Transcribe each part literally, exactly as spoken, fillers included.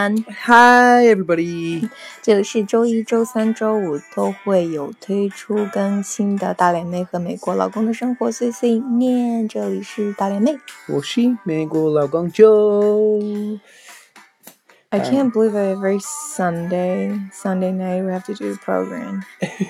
John. Hi, everybody. 这里是周一、周三、周五都会有推出更新的大脸妹和美国老公的生活碎碎念。这里是大脸妹， 我是美国老公 Joe. I can't believe it. Every Sunday, Sunday night, we have to do a program.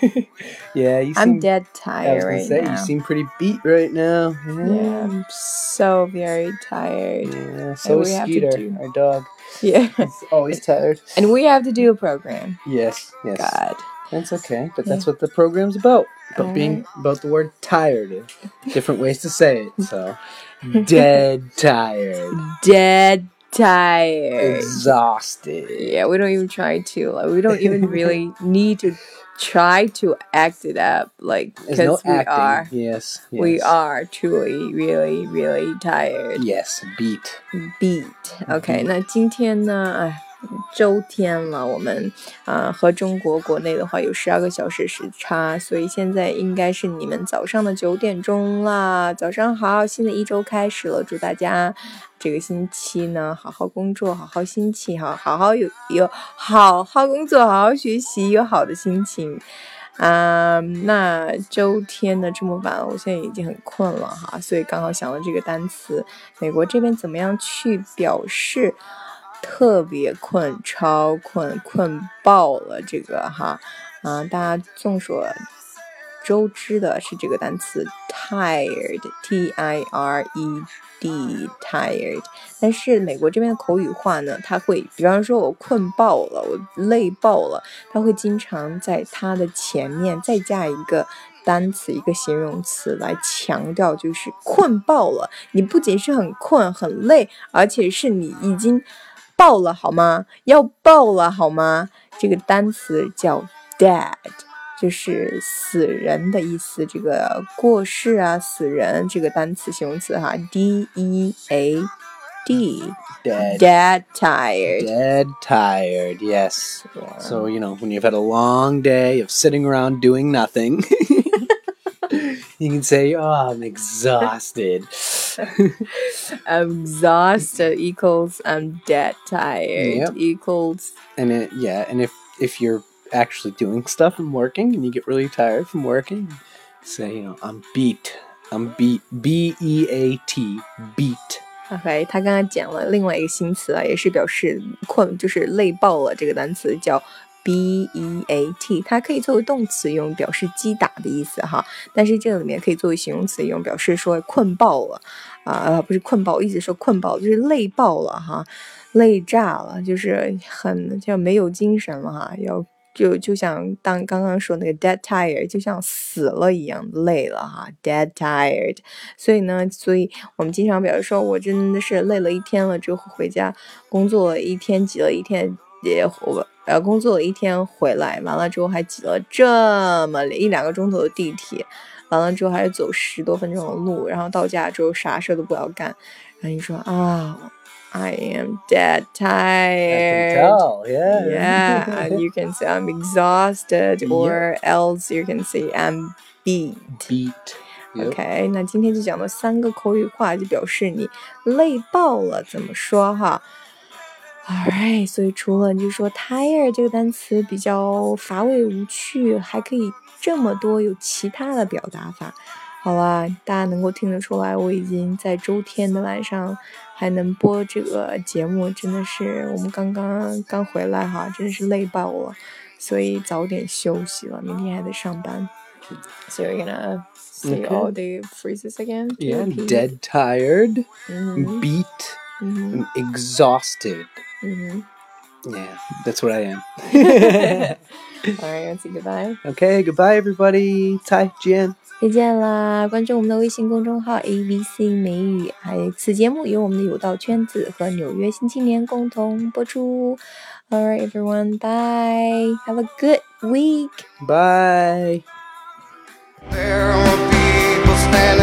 Yeah, you I'm seem, dead I was tired gonna right say, now. you seem pretty beat right now. Yeah, Yeah, I'm so very tired. yeah. So is we have to Skeeter, do- our dog. Yeah, He's always tired. and we have to do a program. Yes, yes. God. That's okay, but Yeah. that's what the program's about. About All being, right. about the word tired. Different ways to say it, so. Dead tired. Dead tired. Exhausted. Yeah, we don't even try to. Like, we don't even really need to try to act it up. Like, There's no because we acting. are, Yes, yes. we are truly, really, really tired. Yes, beat. Beat. OK, 那今天呢？哎。周天了，我们啊、呃、和中国国内的话有十二个小时时差，所以现在应该是你们早上的九点钟啦。早上好，新的一周开始了，祝大家这个星期呢好好工作，好好心情，好好好有有好好工作，好好学习，有好的心情。啊、嗯，那周天呢这么晚，我现在已经很困了哈，所以刚好想了这个单词，美国这边怎么样去表示？特别困，超困，困爆了，这个哈，啊，大家众所周知的是这个单词 tired，T I R E D tired， 但是美国这边的口语化呢，它会，比方说我困爆了，我累爆了，它会经常在它的前面再加一个单词，一个形容词来强调，就是困爆了，你不仅是很困很累，而且是你已经爆了好吗？要爆了好吗？这个单词叫 dead， 就是死人的意思。这个过世啊，死人这个单词形容词哈 ，D E A D Dead. Dead tired. Dead tired, yes. Yeah. So, you know, when you've had a long day of sitting around doing nothing, you can say, oh, I'm exhausted. I'm exhausted equals I'm dead tired Yep. equals And it, yeah, and if, if you're actually doing stuff and working and you get really tired from working, say, you know, I'm beat. I'm beat. B E A T. Beat. OK， 他刚刚讲了另外一个新词啊，也是表示困，就是累爆了。这个单词叫 B E A T， 它可以作为动词用，表示击打的意思哈。但是这个里面可以作为形容词用，表示说困爆了啊、呃，不是困爆，一直说困爆，就是累爆了哈，累炸了，就是很就没有精神了哈，要。就就像当刚刚说那个 dead tired， 就像死了一样累了哈 ，dead tired。所以呢，所以我们经常表示说，我真的是累了一天了之后回家，工作了一天，挤了一天，也我呃工作了一天回来，完了之后还挤了这么一两个钟头的地铁，完了之后还是走十多分钟的路，然后到家之后啥事都不要干，然后你说啊。I am dead tired. I can tell, yeah. Yeah, and you can say I'm exhausted, or yep. else you can say I'm beat. Beat. Yep. OK， 那今天就讲了三个口语化，就表示你累爆了，怎么说哈 ？Alright， 所以除了就说 tired 这个单词比较乏味无趣，还可以这么多有其他的表达法。好啦，大家能够听得出来，我已经在周天的晚上还能播这个节目，真的是我们刚刚刚回来哈，真的是累爆了，所以早点休息了，明天还得上班。So you're gonna say Okay. all the phrases again? Yeah, repeat? dead tired, Mm-hmm. beat, Mm-hmm. and exhausted. Mm-hmm. Yeah, that's what I am. Alright, let's say goodbye. Okay, goodbye everybody. 再见。 再见啦！关注我们的微信公众号 A B C 美语，还有此节目由我们的有道圈子和纽约新青年共同播出。Alright, everyone, bye. Have a good week. Bye. There are people standing